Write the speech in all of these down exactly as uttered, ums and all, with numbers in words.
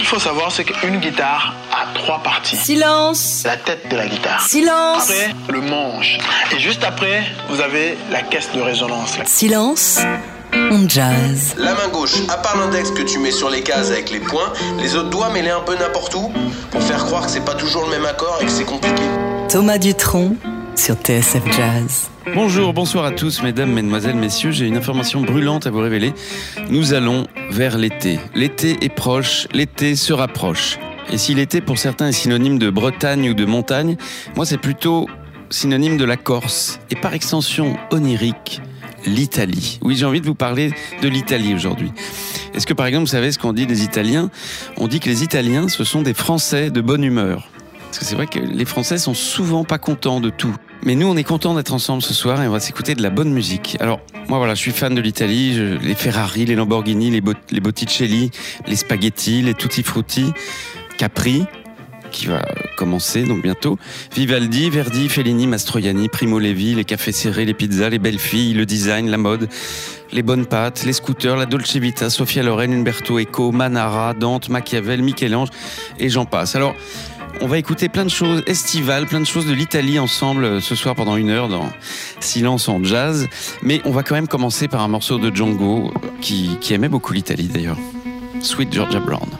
faut savoir, c'est qu'une guitare a trois parties. Silence. La tête de la guitare. Silence. Après, le manche. Et juste après, vous avez la caisse de résonance. Silence. On jazz. La main gauche, à part l'index que tu mets sur les cases avec les poings, les autres doigts mets-les un peu n'importe où pour faire croire que c'est pas toujours le même accord et que c'est compliqué. Thomas Dutronc sur T S F Jazz. Bonjour, bonsoir à tous, mesdames, mesdemoiselles, messieurs. J'ai une information brûlante à vous révéler. Nous allons vers l'été. L'été est proche, l'été se rapproche. Et si l'été pour certains est synonyme de Bretagne ou de montagne, moi c'est plutôt synonyme de la Corse. Et par extension onirique, l'Italie. Oui, j'ai envie de vous parler de l'Italie aujourd'hui. Est-ce que par exemple, vous savez ce qu'on dit des Italiens ? On dit que les Italiens, ce sont des Français de bonne humeur. Parce que c'est vrai que les Français sont souvent pas contents de tout. Mais nous, on est contents d'être ensemble ce soir et on va s'écouter de la bonne musique. Alors, moi voilà, je suis fan de l'Italie, je, les Ferrari, les Lamborghini, les, Bot- les Botticelli, les spaghettis, les Tutti Frutti, Capri, qui va commencer donc bientôt, Vivaldi, Verdi, Fellini, Mastroianni, Primo Levi, les cafés serrés, les pizzas, les belles filles, le design, la mode, les bonnes pâtes, les scooters, la Dolce Vita, Sophia Loren, Umberto Eco, Manara, Dante, Machiavel, Michel-Ange et j'en passe. Alors, on va écouter plein de choses estivales, plein de choses de l'Italie ensemble ce soir pendant une heure dans Silence en jazz. Mais on va quand même commencer par un morceau de Django qui, qui aimait beaucoup l'Italie d'ailleurs. Sweet Georgia Brown.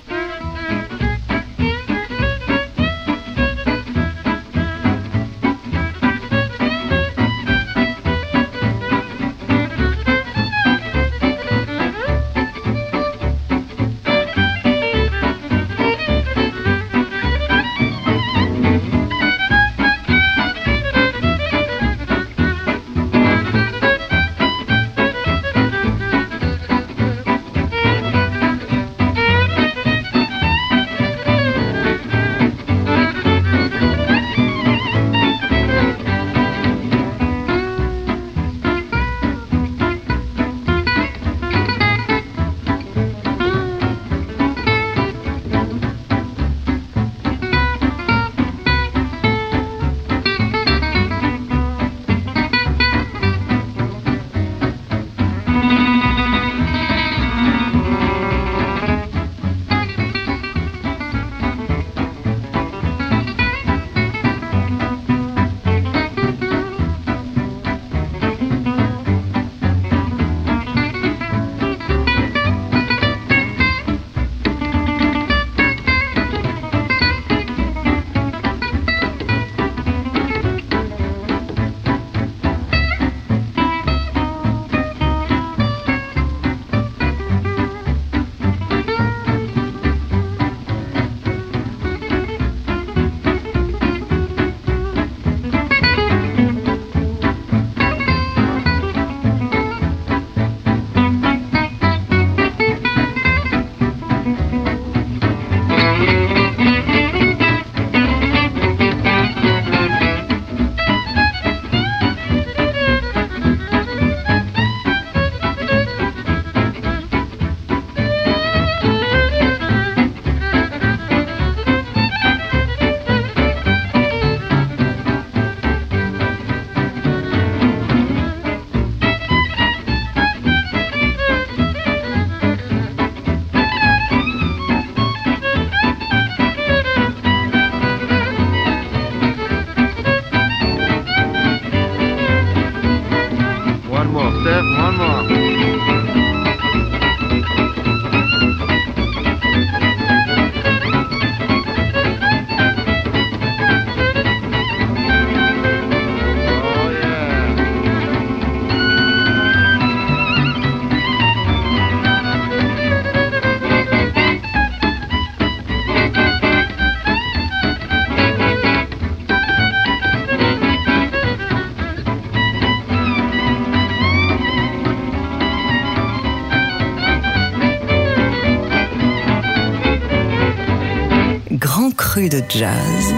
De jazz.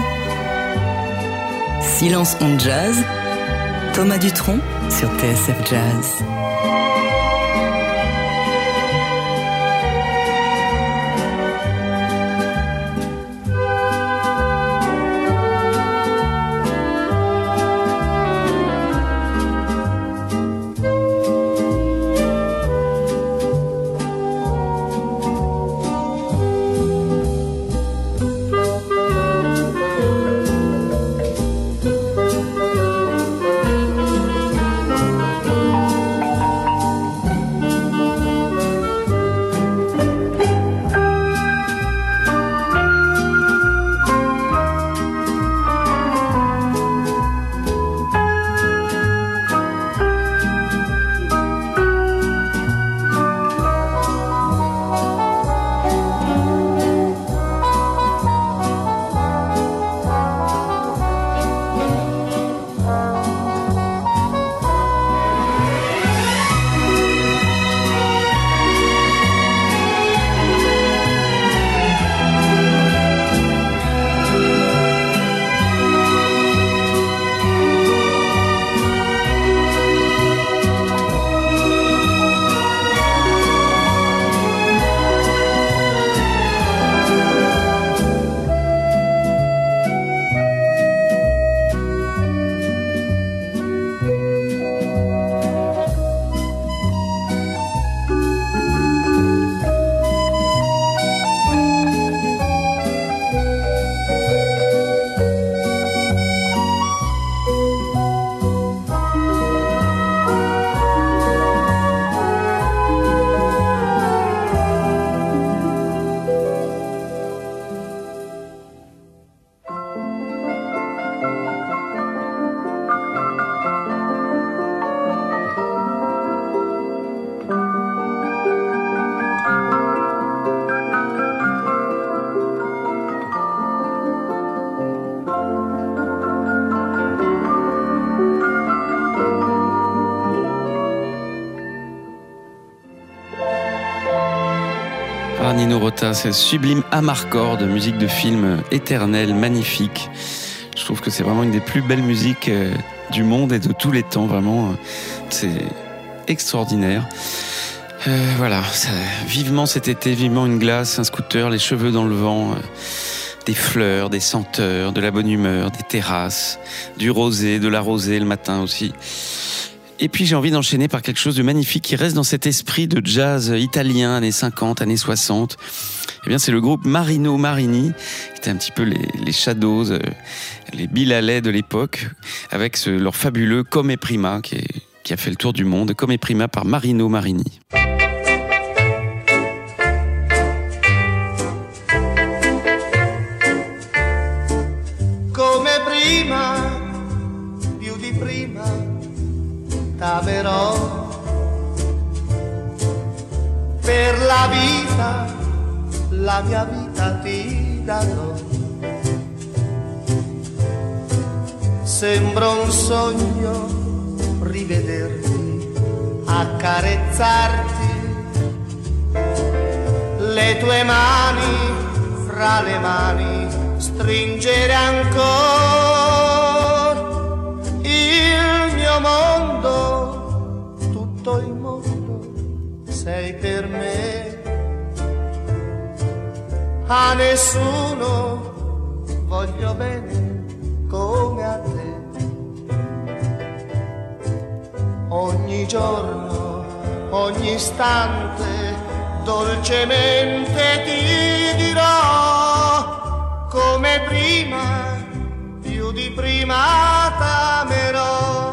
Silence on jazz. Thomas Dutronc sur T S F Jazz. Nino Rota, c'est sublime Amarcord, musique de film éternelle, magnifique. Je trouve que c'est vraiment une des plus belles musiques du monde et de tous les temps, vraiment. C'est extraordinaire. Euh, voilà, ça, vivement cet été, vivement une glace, un scooter, les cheveux dans le vent, euh, des fleurs, des senteurs, de la bonne humeur, des terrasses, du rosé, de la rosée le matin aussi. Et puis j'ai envie d'enchaîner par quelque chose de magnifique qui reste dans cet esprit de jazz italien, années cinquante, années soixante. Eh bien, c'est le groupe Marino Marini, qui était un petit peu les, les Shadows, euh, les Bill Haley de l'époque, avec ce, leur fabuleux Come Prima, qui, est, qui a fait le tour du monde. Come Prima par Marino Marini. Come prima, più di prima, t'amerò per la vita, la mia vita ti darò. Sembra un sogno rivederti, accarezzarti, le tue mani fra le mani, stringere ancora il mio mondo, tutto il mondo sei per me. A nessuno voglio bene come a te. Ogni giorno, ogni istante, dolcemente ti dirò, come prima, più di prima t'amerò.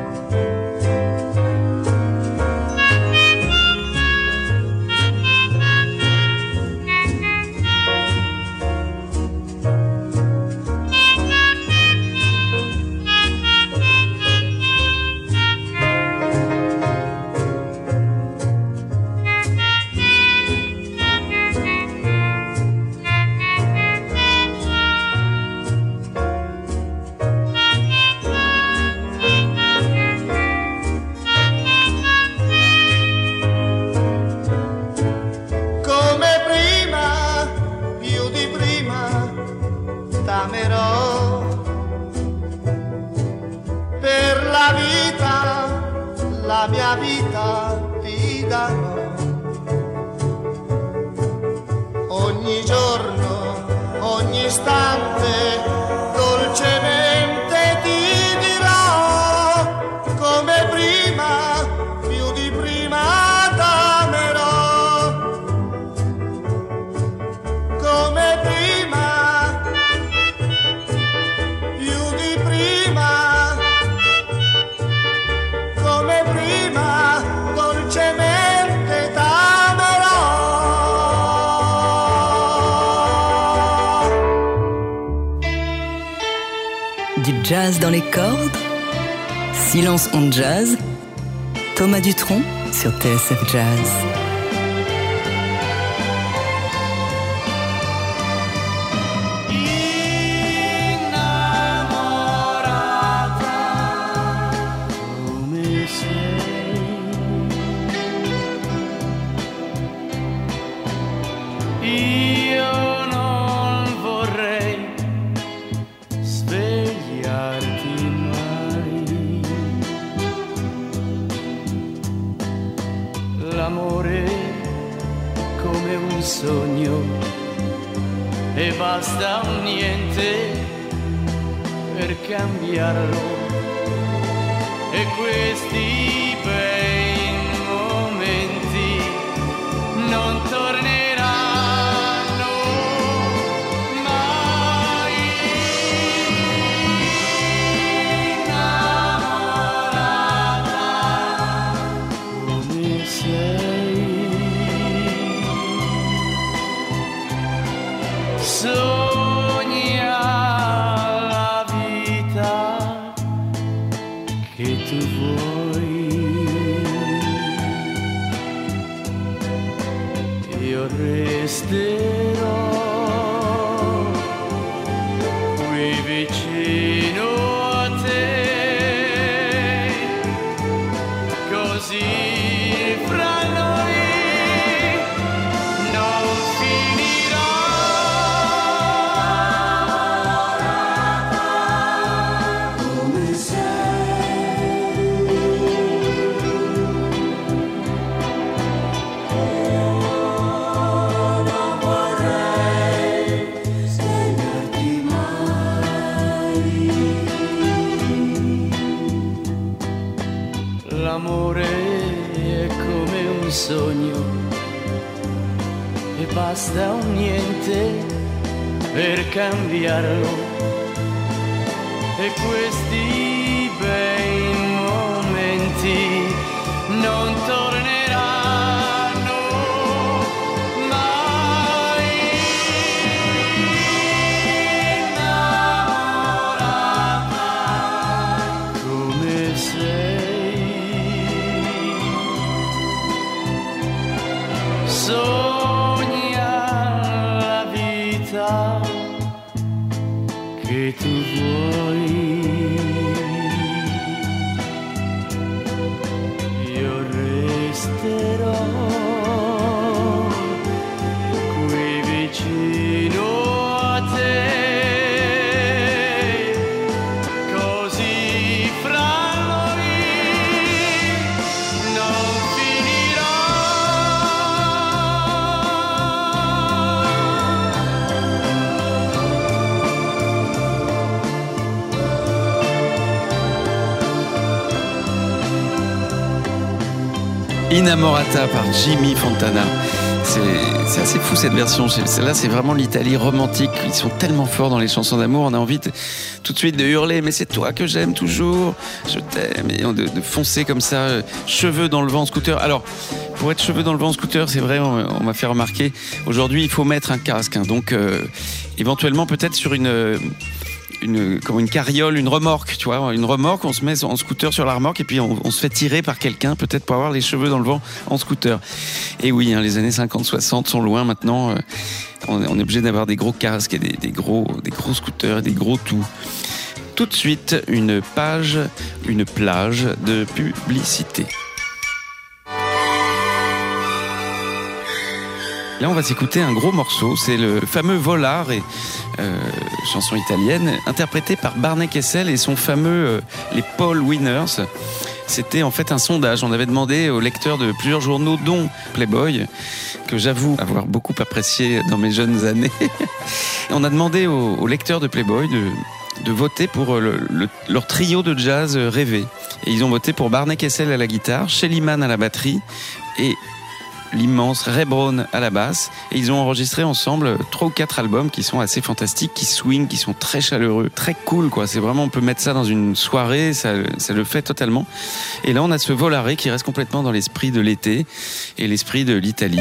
La mia vita ti darò, ogni giorno, ogni istante, dolcemente ti dirò, come prima, più di prima t'amerò, come prima, più di prima. Dolcemente t'amerò. Du jazz dans les cordes, Silence on jazz, Thomas Dutronc sur T S F Jazz. Sogno e basta un niente per cambiarlo, e questi bei momenti non torneranno mai. Innamorata come sei, sogna la vita che tu vuoi, io resterò qui vicino a te, così fra noi non l'amore è come un sogno e basta un niente per cambiarlo, e questi bei momenti non torneranno mai. Innamorata come sei, sogna la vita che tu vuoi. Io resterò qui vicino a te, così fra noi non finirà. Innamorata par Jimmy Fontana. C'est, c'est assez fou cette version. Celle-là, c'est vraiment l'Italie romantique. Ils sont tellement forts dans les chansons d'amour. On a envie de, tout de suite de hurler. Mais c'est toi que j'aime toujours. Je t'aime. Et de, de foncer comme ça, cheveux dans le vent en scooter. Alors, pour être cheveux dans le vent en scooter, c'est vrai, on, on m'a fait remarquer. Aujourd'hui, il faut mettre un casque. Hein, donc, euh, éventuellement, peut-être sur une... Une, comme une carriole, une remorque, tu vois, une remorque, on se met en scooter sur la remorque et puis on, on se fait tirer par quelqu'un, peut-être pour avoir les cheveux dans le vent en scooter. Et oui, hein, les années cinquante soixante sont loin maintenant. Euh, on, on est obligé d'avoir des gros casques et des, des, gros, des gros scooters, des gros tout. Tout de suite, une page, une plage de publicité. Là, on va s'écouter un gros morceau. C'est le fameux Volare, et, euh, chanson italienne, interprétée par Barney Kessel et son fameux euh, les Paul Winners. C'était en fait un sondage. On avait demandé aux lecteurs de plusieurs journaux, dont Playboy, que j'avoue avoir beaucoup apprécié dans mes jeunes années. Et on a demandé aux, aux lecteurs de Playboy de, de voter pour le, le, leur trio de jazz rêvé. Et ils ont voté pour Barney Kessel à la guitare, Shelly Manne à la batterie et l'immense Ray Brown à la basse, et ils ont enregistré ensemble trois ou quatre albums qui sont assez fantastiques, qui swing, qui sont très chaleureux, très cool quoi. C'est vraiment, on peut mettre ça dans une soirée, ça, ça le fait totalement. Et là on a ce Volare qui reste complètement dans l'esprit de l'été et l'esprit de l'Italie.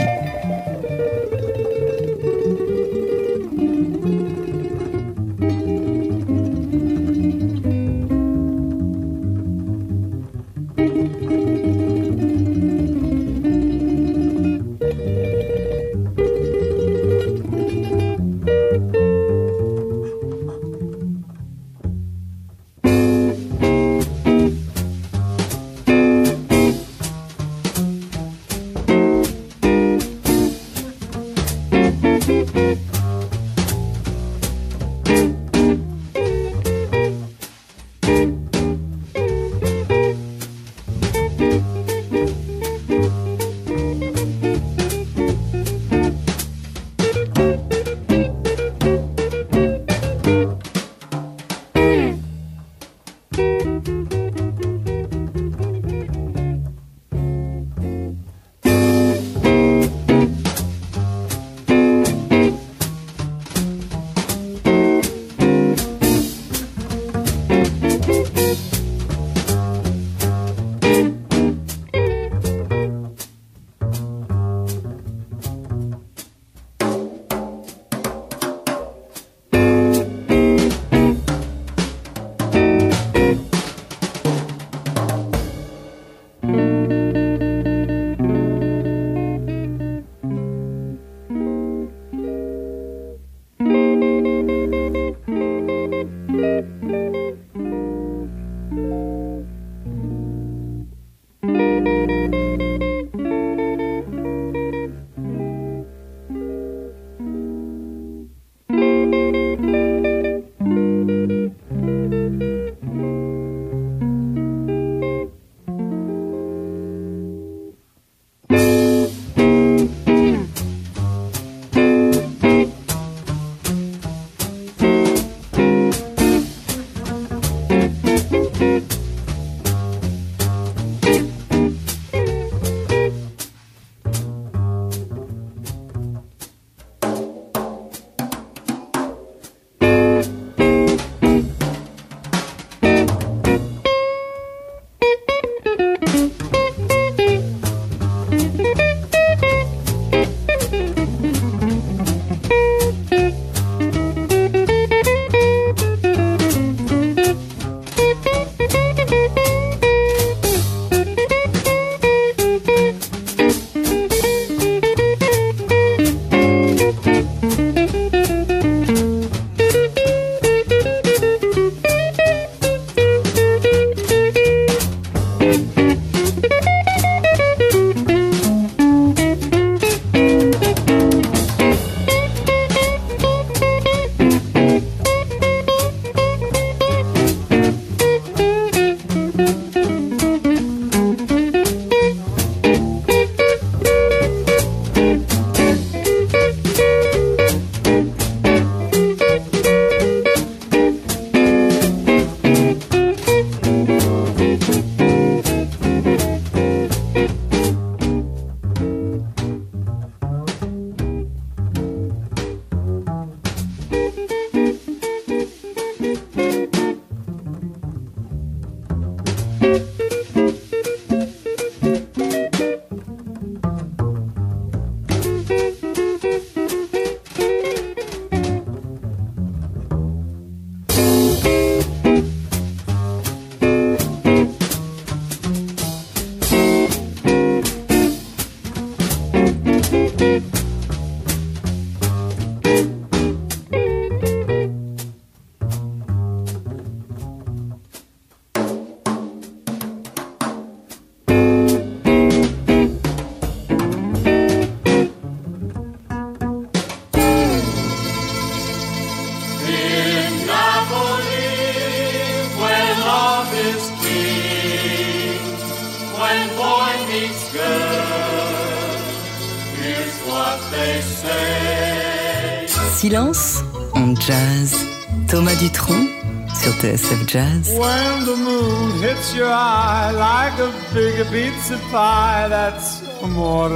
Silence en jazz. Thomas Dutronc sur T S F Jazz. When the moon hits your eye like a big pizza pie, that's amore.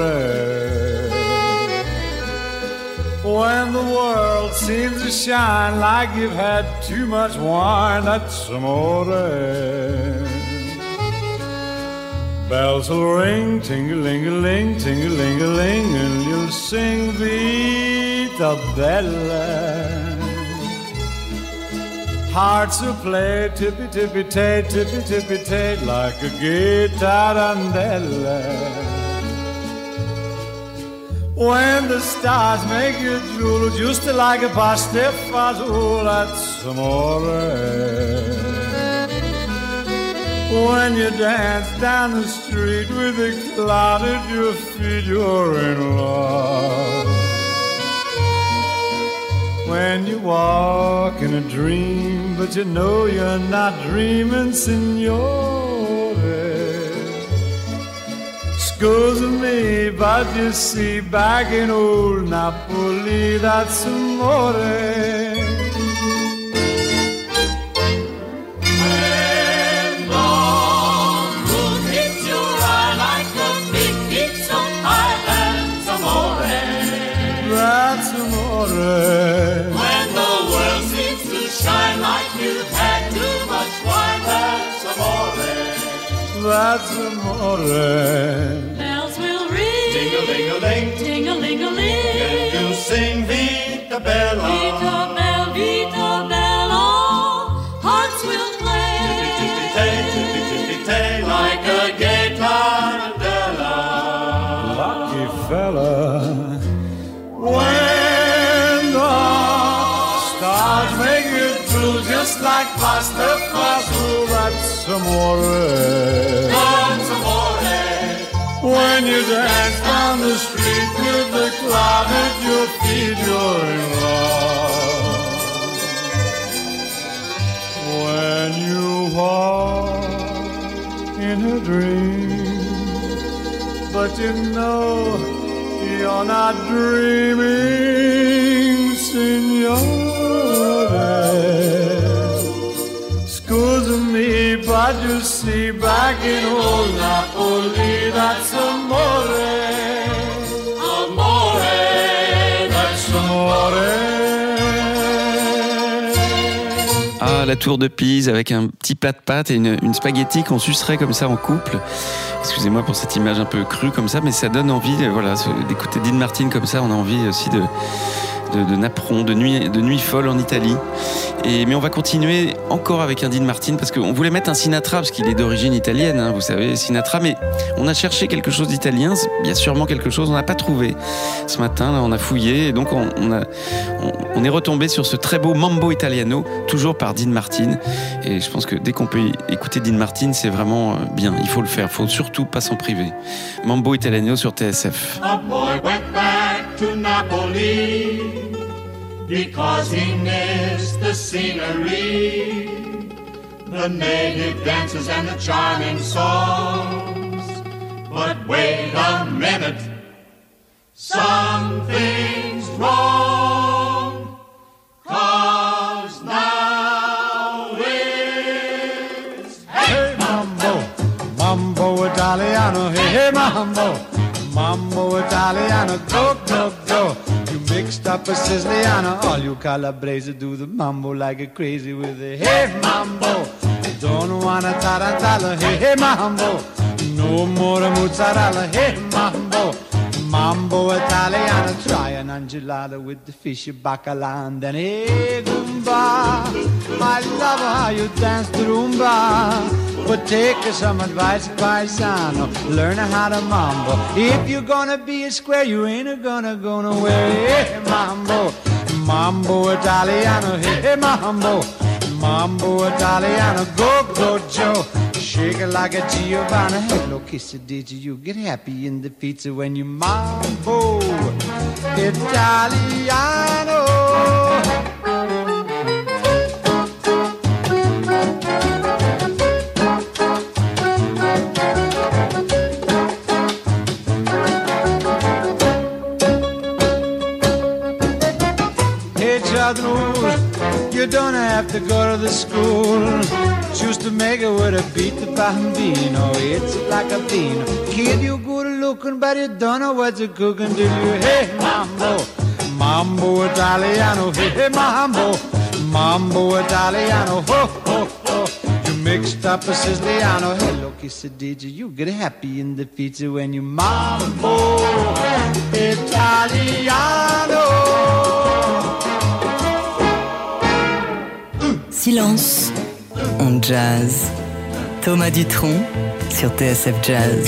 When the world seems to shine like you've had too much wine, that's amore. Bells will ring, ting-a-ling-a-ling, ting-a-ling-a-ling, and you'll sing Vita Bella. Hearts will play tippy-tippy-tay, tippy-tippy-tay, like a gay tarantella. When the stars make you drool, just like a pastifazool, that's amore. When you dance down the street with a cloud at your feet, you're in love. When you walk in a dream, but you know you're not dreaming, signore. Scusa me, but you see, back in old Napoli, that's amore. When the world seems to shine like you've had too much wine, that's amore. That's amore. Bells will ring, ting-a-ling-a-ling, ting-a-ling-a-ling, and you'll sing Vita Bella. Vita Bella, Vita Bella. Hearts will play, tippy-tippy-tay, tippy-tippy-tay, like a gay tarantella. Lucky fella. When the stars make you drool, just like pasta fazool, that's amore. That's amore. When you dance down the street with the cloud at your feet, you're in love. When you walk in a dream, but you know you're not dreaming, signore. Scusa me, but you see, back in old Napoli, that's amore. Amore, That's amore. Ah, la tour de Pise avec un petit plat de pâtes et une, une spaghetti qu'on sucerait comme ça en couple. Excusez-moi pour cette image un peu crue comme ça, mais ça donne envie, voilà, d'écouter Dean Martin comme ça. On a envie aussi de, de, de napperon, de nuit, de nuit folle en Italie. Et, mais on va continuer encore avec un Dean Martin parce qu'on voulait mettre un Sinatra parce qu'il est d'origine italienne, hein, vous savez, Sinatra. Mais on a cherché quelque chose d'italien. Il y a sûrement quelque chose, on n'a pas trouvé. Ce matin, là, on a fouillé et donc on, on, a, on, on est retombé sur ce très beau Mambo Italiano, toujours par Dean Martin. Et je pense que dès qu'on peut écouter Dean Martin, c'est vraiment bien. Il faut le faire. Il faut surtout pas s'en priver. Mambo Italiano sur T S F. A boy went back to Napoli because he missed the scenery, the native dances and the charming songs. But wait a minute, something's wrong, 'cause now it's Hey mambo, mambo Italiano, hey, hey mambo, mambo Italiano, go, go, go. You mixed up a Siciliano, all you Calabrese do the mambo like a crazy with a hey mambo. Don't wanna tarantella, hey, hey mambo. No more mozzarella, hey mambo. Mambo Italiano, try an enchilada with the fish bacala and then hey Goomba. I love how you dance the rumba, but take some advice, paisano. Learn how to mambo. If you're gonna be a square, you ain't gonna go nowhere. Hey mambo, mambo Italiano, hey mambo, mambo Italiano, go go Joe. Shake it like a Giovanna. Hello, kiss it, did you? You get happy in the pizza when you mambo Italiano. Hey, Chadru, you don't have to go to the school. Choose to make it with a beat the bambino. It's like a bean. Kid, you good looking, but you don't know what you're cooking, do you? Hey, mambo, mambo Italiano. Hey, hey, mambo, mambo Italiano. Ho, ho, ho. You mixed up a Siciliano. Hello, kiss it, did you? You get happy in the pizza when you mambo Italiano. Silence on jazz. Thomas Dutronc sur T S F Jazz.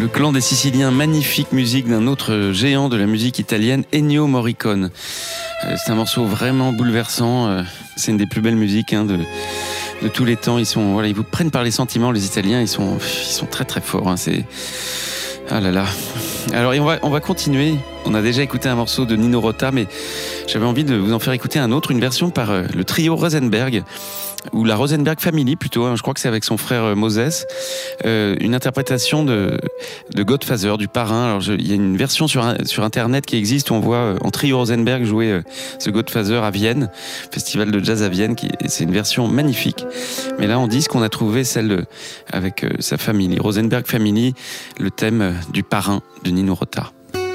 Le clan des Siciliens, magnifique musique d'un autre géant de la musique italienne, Ennio Morricone. Euh, c'est un morceau vraiment bouleversant. Euh, c'est une des plus belles musiques hein, de, de tous les temps. Ils sont, voilà, ils vous prennent par les sentiments, les Italiens. Ils sont, ils sont très très forts. Hein, c'est ah là là. Alors on va, on va continuer. On a déjà écouté un morceau de Nino Rota, mais j'avais envie de vous en faire écouter un autre, une version par euh, le trio Rosenberg, ou la Rosenberg Family plutôt, hein, je crois que c'est avec son frère euh, Moses, euh, une interprétation de, de Godfather, du parrain. Alors je, il y a une version sur, sur internet qui existe où on voit euh, en trio Rosenberg jouer euh, ce Godfather à Vienne, festival de jazz à Vienne, qui, c'est une version magnifique. Mais là on dit qu'on a trouvé celle de, avec euh, sa famille, Rosenberg Family, le thème euh, du parrain de Nino Rota.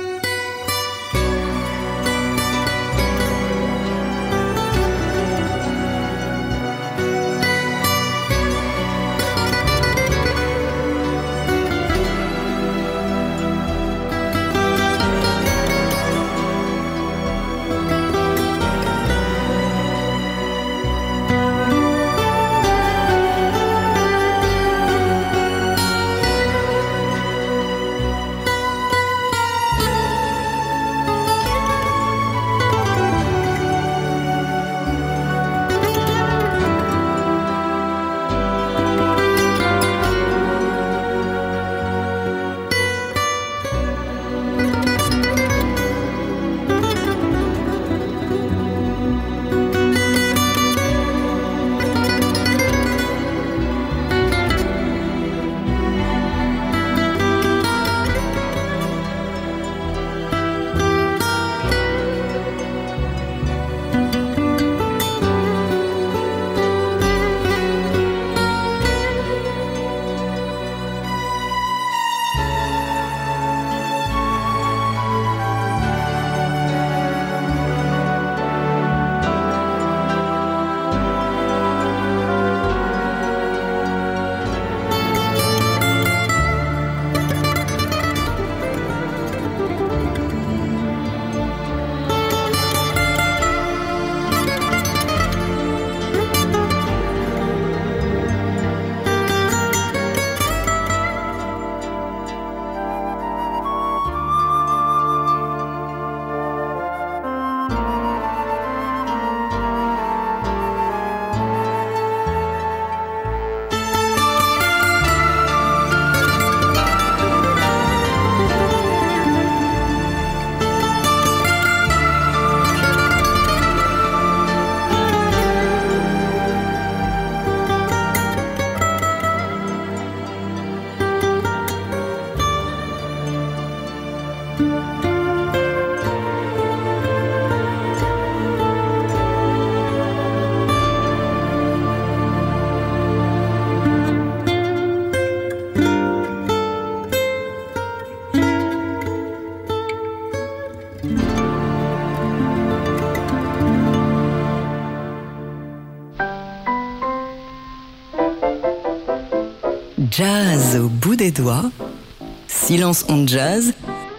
Jazz au bout des doigts, Silence on Jazz,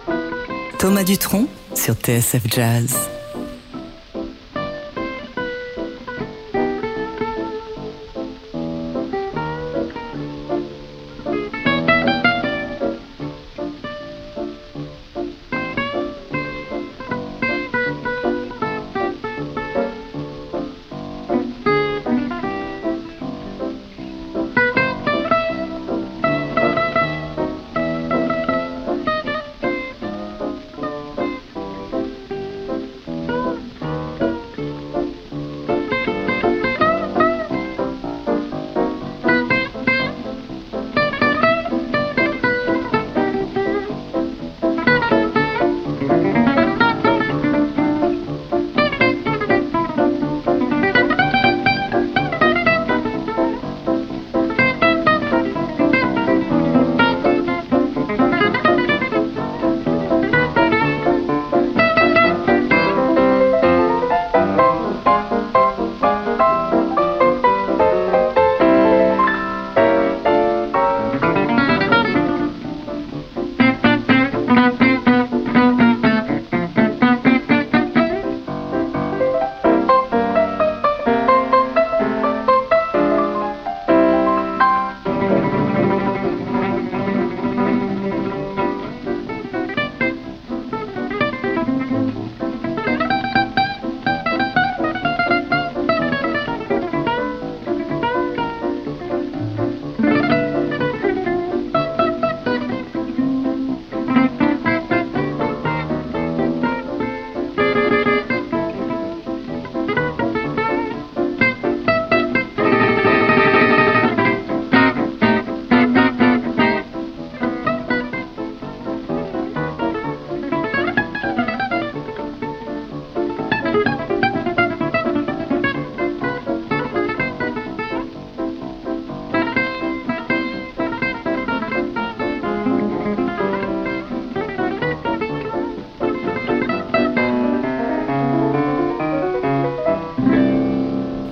Thomas Dutronc sur T S F Jazz.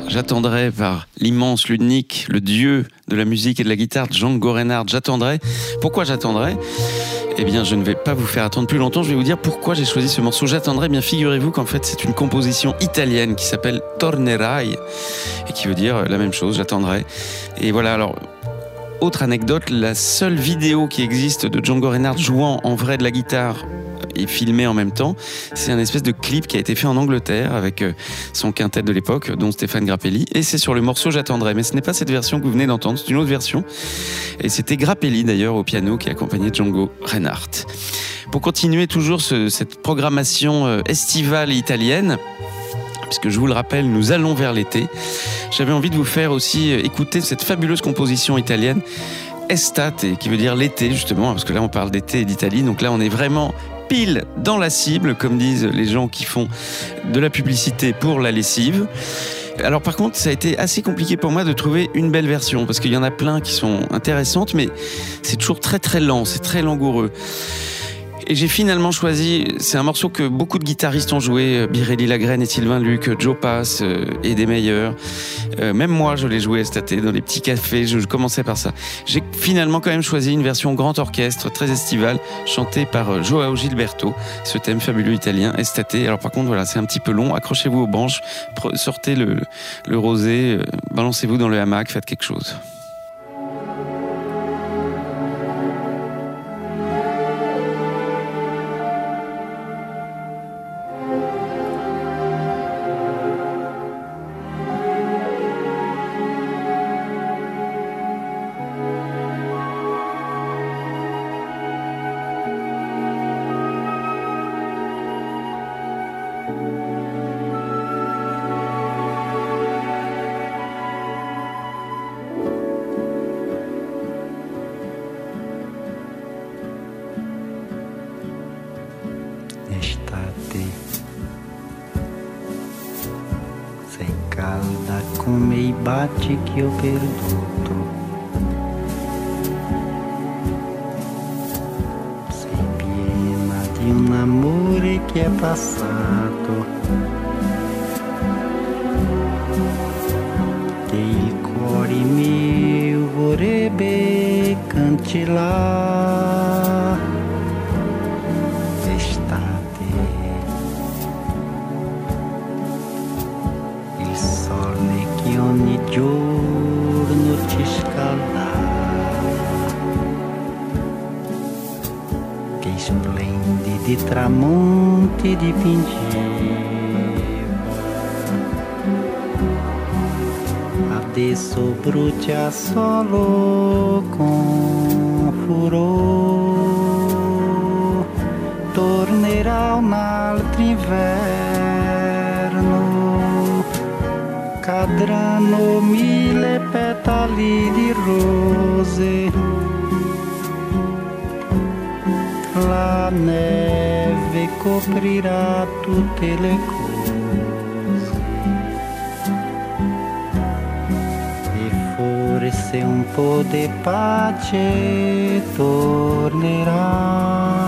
J'attendrai par l'immense, l'unique, le dieu de la musique et de la guitare, Django Reinhardt. J'attendrai. Pourquoi j'attendrai ? Eh bien, je ne vais pas vous faire attendre plus longtemps. Je vais vous dire pourquoi j'ai choisi ce morceau. J'attendrai. Eh bien, figurez-vous qu'en fait, c'est une composition italienne qui s'appelle Tornerai et qui veut dire la même chose. J'attendrai. Et voilà. Alors, autre anecdote, la seule vidéo qui existe de Django Reinhardt jouant en vrai de la guitare et filmé en même temps, c'est un espèce de clip qui a été fait en Angleterre avec son quintet de l'époque, dont Stéphane Grappelli, et c'est sur le morceau J'attendrai. Mais ce n'est pas cette version que vous venez d'entendre, c'est une autre version, et c'était Grappelli d'ailleurs au piano qui accompagnait Django Reinhardt. Pour continuer toujours ce, cette programmation estivale italienne, puisque je vous le rappelle, nous allons vers l'été, j'avais envie de vous faire aussi écouter cette fabuleuse composition italienne Estate, qui veut dire l'été justement, parce que là on parle d'été et d'Italie, donc là on est vraiment pile dans la cible, comme disent les gens qui font de la publicité pour la lessive. Alors par contre, ça a été assez compliqué pour moi de trouver une belle version, parce qu'il y en a plein qui sont intéressantes, mais c'est toujours très très lent, c'est très langoureux. Et j'ai finalement choisi, c'est un morceau que beaucoup de guitaristes ont joué, Birelli Lagrène et Sylvain Luc, Joe Pass euh, et des meilleurs. Euh, même moi, je l'ai joué Estate dans les petits cafés, je, je commençais par ça. J'ai finalement quand même choisi une version grand orchestre, très estivale, chantée par euh, Joao Gilberto, ce thème fabuleux italien, Estate. Alors par contre, voilà, c'est un petit peu long, accrochez-vous aux branches, pre- sortez le, le rosé, euh, balancez-vous dans le hamac, faites quelque chose. Estate, sei calda come i baci che ho perduto, sei piena di un amore che è passato, che il cuore mio vorrebbe cancellare. Ogni giorno ci scaldava, che splendidi tramonti dipingeva, adesso brucia solo con furore, tornerà un altro inverno, cadranno mille petali di rose, la neve coprirà tutte le cose e forse un po' di pace tornerà.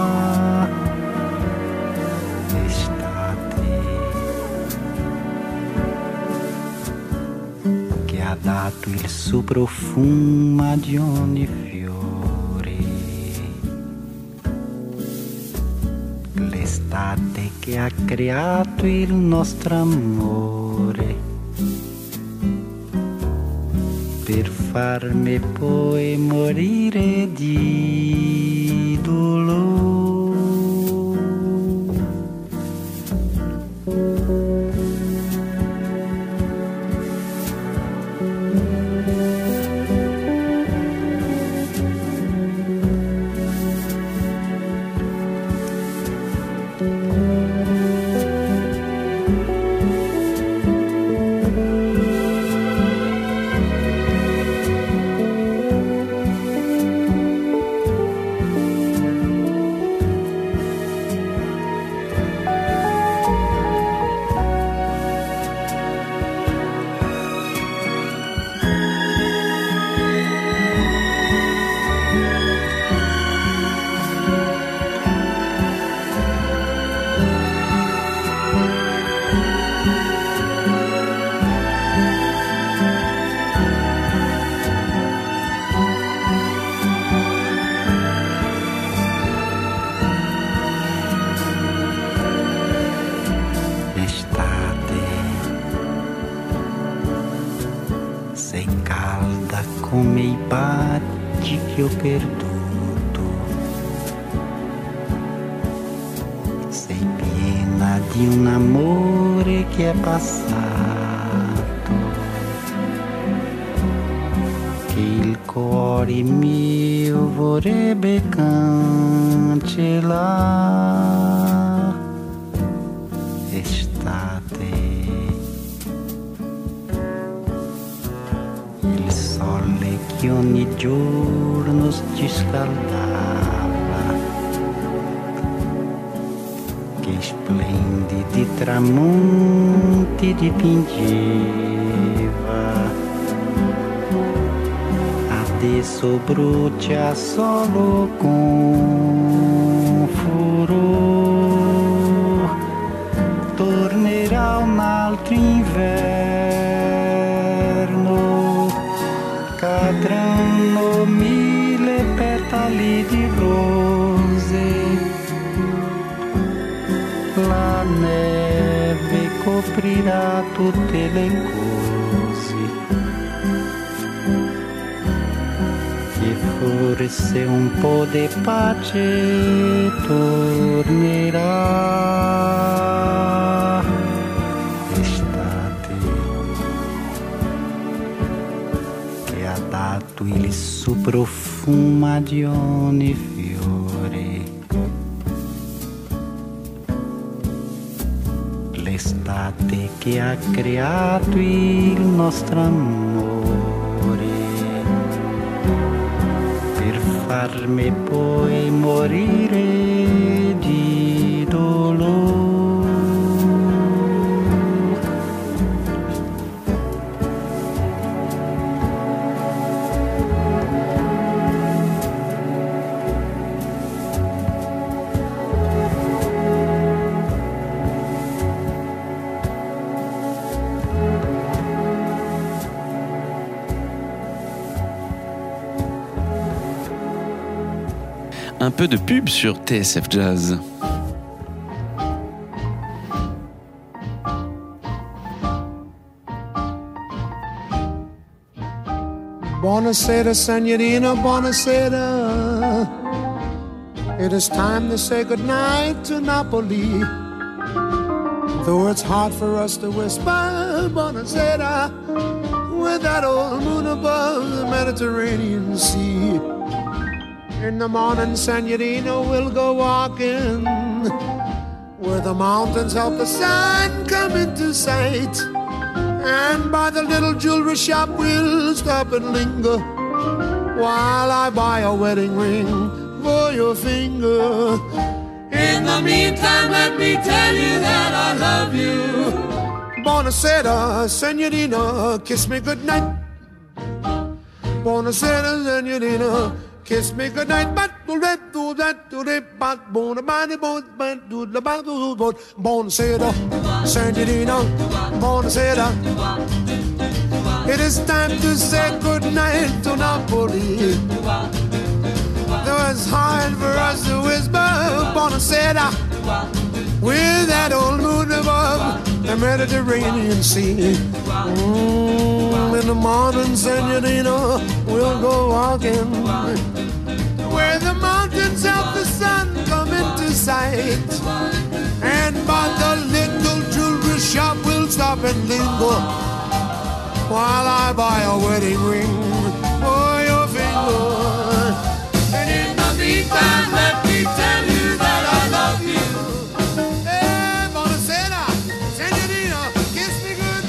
Ha dato il suo profumo di ogni fiore, l'estate che ha creato il nostro amore, per farmi poi morire di dolore. sei calda come i baci che ho perduto. Sei piena di un amore che è passato, che il cuore mio vorrebbe cancellare. Estate, il sole che ogni giorno ci scaldava, che splendidi tramonti dipingeva, adesso brucia solo con furore. Tornerà un altro inverno, cadranno mille petali di rose, la neve coprirà tutte le cose, e forse un po' di pace tornerà. Il suo profumo di ogni fiore, l'estate che ha creato il nostro amore, per farmi poi morire di dolore. Un peu de pub sur T S F Jazz. Buonasera, signorina, buonasera. It is time to say goodnight to Napoli. Though it's hard for us to whisper buonasera with that old moon above the Mediterranean Sea. In the morning, signorina, we'll go walking where the mountains help the sun come into sight. And by the little jewelry shop we'll stop and linger while I buy a wedding ring for your finger. In the meantime, let me tell you that I love you. Buonasera, signorina, kiss me goodnight. Buonasera, signorina, kiss me goodnight. But do that, do that, do that, but bona body, bona body, do the body, but buonasera, signorina, buonasera. It is time to say goodnight to Napoli. Though it's hard for us to whisper buonasera with that old moon above the Mediterranean Sea. Mm, in the morning, signorina, we'll go walking where the mountains help the sun come into sight. And by the little jewelry shop we'll stop and linger while I buy a wedding ring for your finger. And in the meantime, let me tell you that I love you. Hey, buonasera, signorina, kiss me good.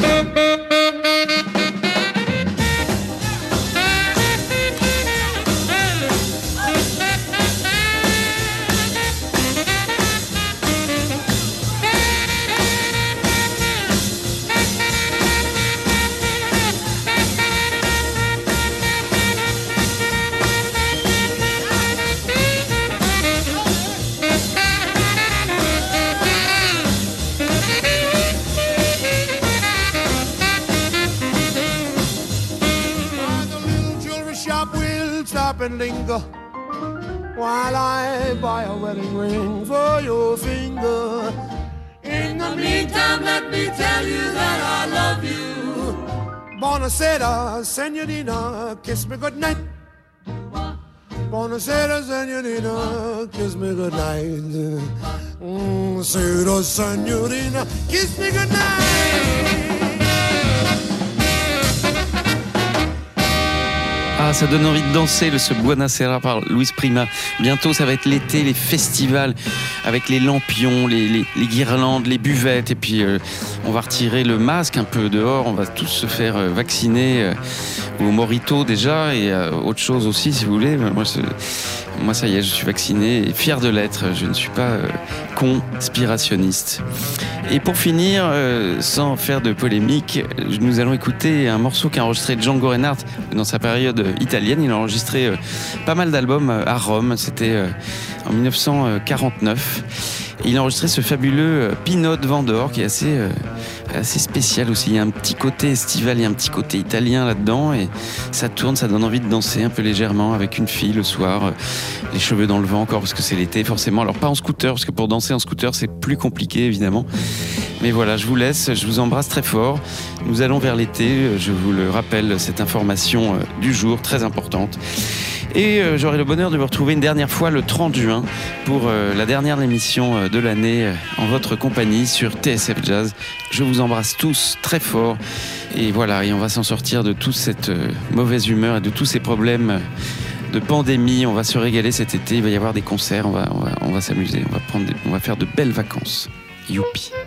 And linger while I buy a wedding ring for your finger. In the meantime, let me tell you that I love you. Buonasera, senorina, kiss me goodnight. Buonasera, senorina, kiss me goodnight. Mm, Sera, senorina, kiss me goodnight. Ah, ça donne envie de danser, le ce Buonasera par Luis Prima. Bientôt, ça va être l'été, les festivals avec les lampions, les, les, les guirlandes, les buvettes. Et puis, euh, on va retirer le masque un peu dehors. On va tous se faire euh, vacciner euh, au Morito déjà et euh, autre chose aussi, si vous voulez. Moi, moi, ça y est, je suis vacciné et fier de l'être. Je ne suis pas euh, conspirationniste. Et pour finir, euh, sans faire de polémique, nous allons écouter un morceau qu'a enregistré Django Reinhardt dans sa période italienne. Il a enregistré euh, pas mal d'albums euh, à Rome. C'était euh, en dix-neuf cent quarante-neuf. Et il a enregistré ce fabuleux Pinot Vendor qui est assez, euh, assez spécial aussi. Il y a un petit côté estival, il y a un petit côté italien là-dedans et ça tourne, ça donne envie de danser un peu légèrement avec une fille le soir, euh, les cheveux dans le vent encore parce que c'est l'été forcément. Alors pas en scooter parce que pour danser en scooter c'est plus compliqué évidemment. Mais voilà, je vous laisse, je vous embrasse très fort. Nous allons vers l'été, je vous le rappelle, cette information du jour très importante. Et euh, j'aurai le bonheur de vous retrouver une dernière fois le trente juin pour euh, la dernière émission euh, de l'année euh, en votre compagnie sur T S F Jazz. Je vous embrasse tous très fort et voilà, et on va s'en sortir de toute cette euh, mauvaise humeur et de tous ces problèmes euh, de pandémie. On va se régaler cet été, il va y avoir des concerts, on va, on va, on va s'amuser, on va, prendre des, on va faire de belles vacances. Youpi.